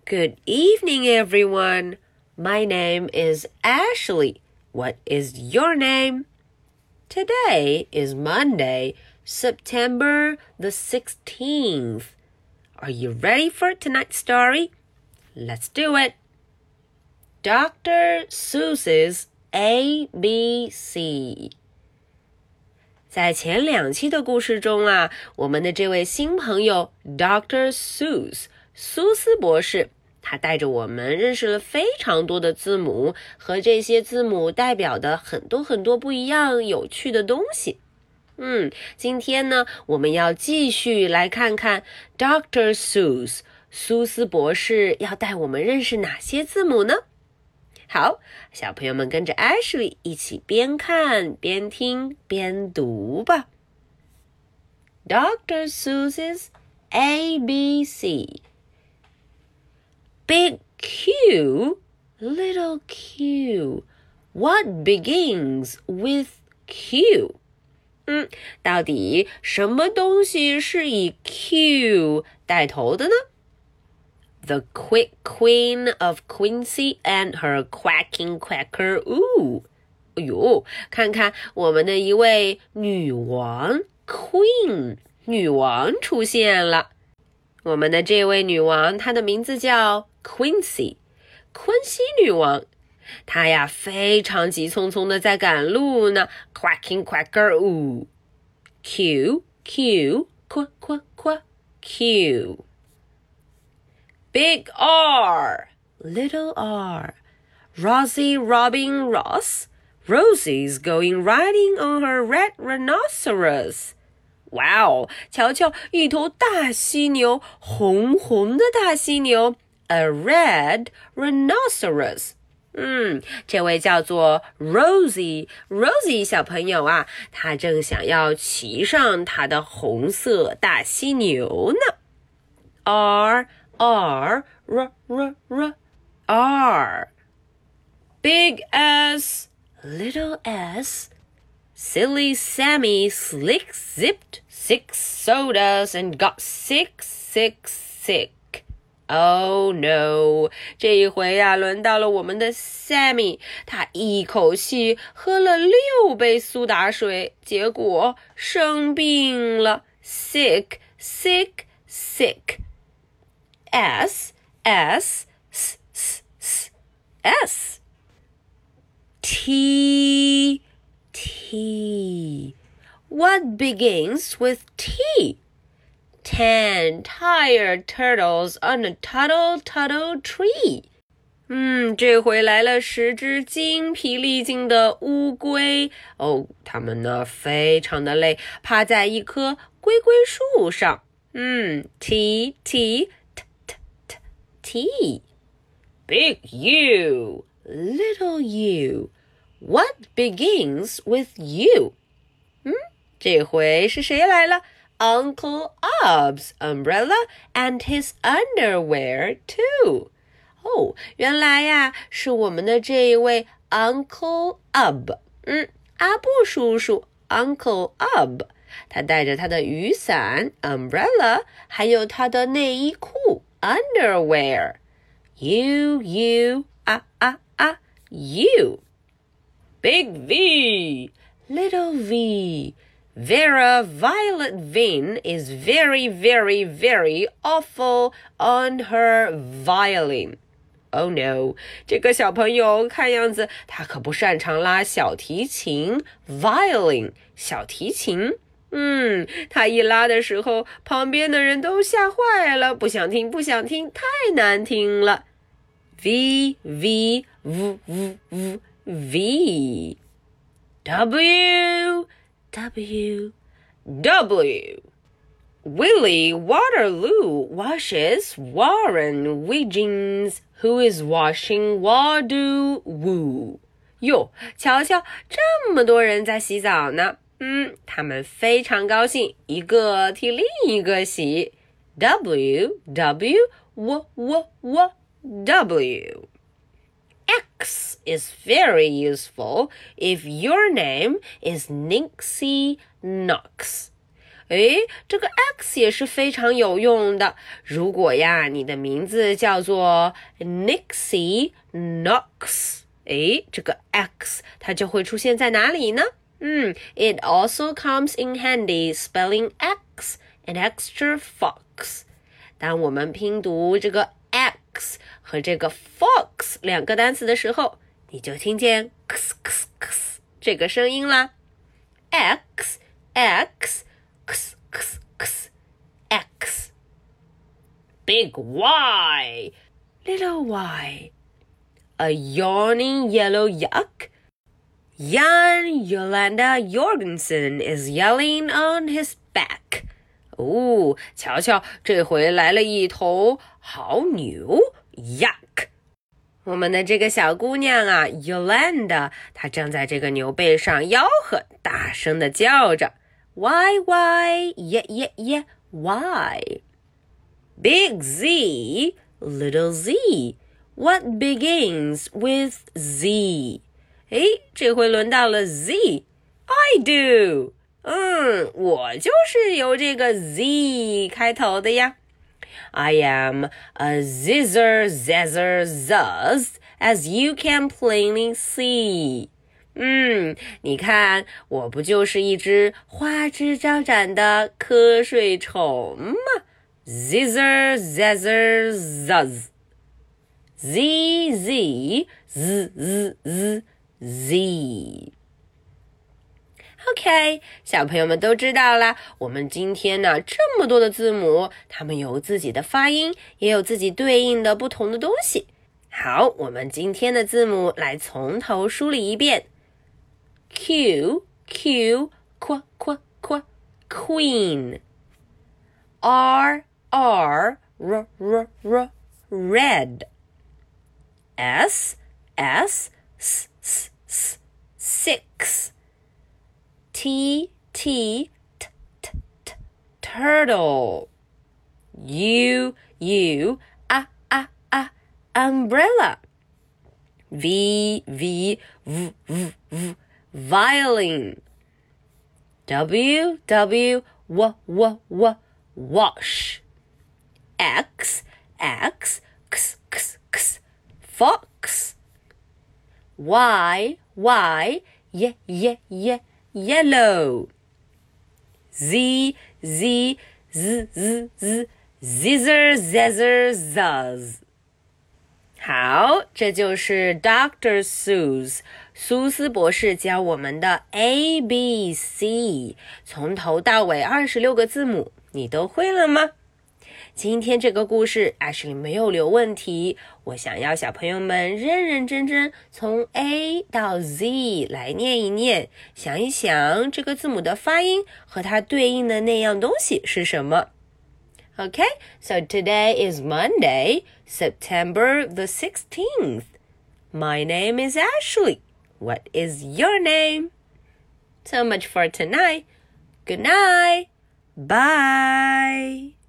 Good evening, everyone. My name is Ashley. What is your name? Today is Monday, September the 16th. Are you ready for tonight's story? Let's do it. Dr. Seuss's ABC. 在前2期的故事中啊，我们的这位新朋友 Dr. Seuss 苏斯博士，他带着我们认识了非常多的字母和这些字母代表的很多不一样有趣的东西。今天呢，我们要继续来看看 Dr. Seuss 苏斯博士要带我们认识哪些字母呢？好，小朋友们跟着 Ashley 一起边看边听边读吧。Dr. Seuss's ABC. Big Q, little q. What begins with Q? 到底什么东西是以 Q 带头的呢？The quick queen of Quincy and her quacking quacker oo. 哎呦，看看我们的一位女王 Queen 女王出现了。我们的这位女王，她的名字叫 Quincy 昆西女王。她呀非常急匆匆的在赶路呢 Quacking quacker oo. Q Q Qu Qu Qu Q.Big R, little r. Rosie robbing Ross. Rosie's going riding on her red rhinoceros. 哇哦，瞧瞧，一头大犀牛，红红的大犀牛 ，a red rhinoceros。这位叫做 Rosie 小朋友啊，她正想要骑上她的红色大犀牛呢。R R R. Big S, little s. Silly Sammy slick zipped 6 sodas and got sick. Oh no, 这一回啊，轮到了我们的 Sammy， 他一口气喝了6杯苏打水，结果生病了 sick. S S S S S T T. What begins with T? 10 tired turtles on a tuttle tree. 这回来了10只精疲力尽的乌龟哦，它们呢非常的累，趴在一棵龟树上。T Big U, little u. What begins with U? 这回是谁来了？ Uncle Ub's umbrella and his underwear too. 哦，原来呀，是我们的这一位 Uncle Ub。阿布叔叔 Uncle Ub， 他带着他的雨伞 umbrella， 还有他的内衣裤 underwear。U, U. Big V, little v. Vera Violet Vin is very awful on her violin. Oh no, 这个小朋友看样子他可不擅长拉小提琴 violin 小提琴。他一拉的时候，旁边的人都吓坏了，不想听，太难听了。V V V V V V. W W W. Willie Waterloo washes Warren Wiggins, who is washing Wadoo Woo. 哟，瞧瞧，这么多人在洗澡呢。他们非常高兴，一个替另一个洗。W W W W W. X is very useful if your name is Nixie Knox. 诶，这个 X 也是非常有用的。如果呀，你的名字叫做 Nixie Knox， 诶，这个 X 它就会出现在哪里呢？It also comes in handy spelling X, an extra fox. 当我们拼读这个 X 和这个 fox 两个单词的时候，你就听见 x x x 这个声音啦。X X X X X X. Big Y, little Y. A yawning yellow yuck.Jan Yolanda Jorgensen is yelling on his back. 哦，瞧瞧，这回来了一头好牛 Yuck。 我们的这个小姑娘啊 Yolanda 她正在这个牛背上吆喝，大声地叫着 Why, why, yeah, yeah, yeah, why? Big Z, little Z. What begins with Z?诶，这回轮到了 Z。I do. 我就是由这个 Z 开头的呀。I am a zizzer, zazzer, zuzz, as you can plainly see. 你看，我不就是一只花枝招展的瞌睡虫吗？ Zizzer, zazzer, zuzz. Z, Z, Z, Z, Z, Z. OK， 小朋友们都知道啦，我们今天呢这么多的字母，它们有自己的发音，也有自己对应的不同的东西。好，我们今天的字母来从头梳理一遍。Q, Q, Q, Q, Q, Queen. R, R, R, R, R, Red. S, S, S, S, S, Six. T, T, T, T, T, Turtle. U, U, Umbrella. V, V, V, V, V, Violin. W, W, W, W, W, Wash. X, X, X, X, X, Fox. Y, Y, Y, Y, Y, Yellow. Z, Z, Z, Z, Z, Zizzer, Zazzer, Zuzz. 好，这就是 Dr. Seuss 苏斯博士教我们的 ABC， 从头到尾26个字母，你都会了吗？今天这个故事 Ashley 没有留问题，我想要小朋友们认认真真从 A 到 Z 来念一念，想一想这个字母的发音和它对应的那样东西是什么。Okay, so today is Monday, September the 16th. My name is Ashley. What is your name? So much for tonight. Good night. Bye.